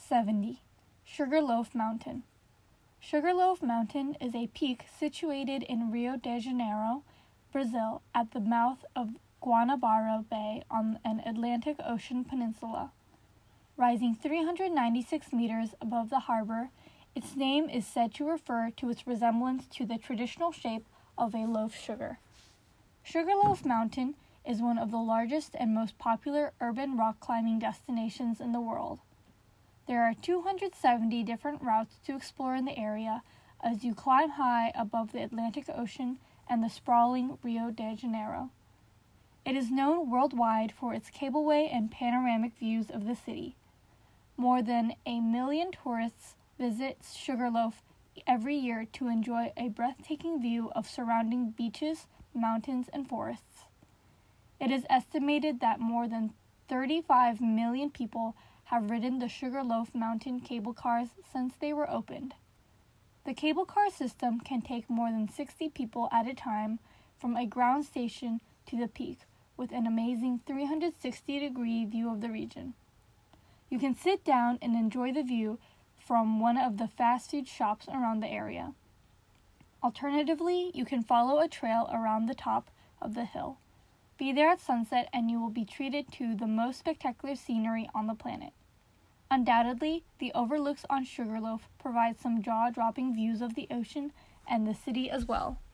70. Sugarloaf Mountain. Sugarloaf Mountain is a peak situated in Rio de Janeiro, Brazil, at the mouth of Guanabara Bay on an Atlantic Ocean peninsula. Rising 396 meters above the harbor, its name is said to refer to its resemblance to the traditional shape of a loaf sugar. Sugarloaf Mountain is one of the largest and most popular urban rock climbing destinations in the world. There are 270 different routes to explore in the area as you climb high above the Atlantic Ocean and the sprawling Rio de Janeiro. It is known worldwide for its cableway and panoramic views of the city. More than 1 million tourists visit Sugarloaf every year to enjoy a breathtaking view of surrounding beaches, mountains, and forests. It is estimated that more than 35 million people have ridden the Sugarloaf Mountain cable cars since they were opened. The cable car system can take more than 60 people at a time from a ground station to the peak, with an amazing 360-degree view of the region. You can sit down and enjoy the view from one of the fast food shops around the area. Alternatively, you can follow a trail around the top of the hill. Be there at sunset and you will be treated to the most spectacular scenery on the planet. Undoubtedly, the overlooks on Sugarloaf provide some jaw-dropping views of the ocean and the city as well.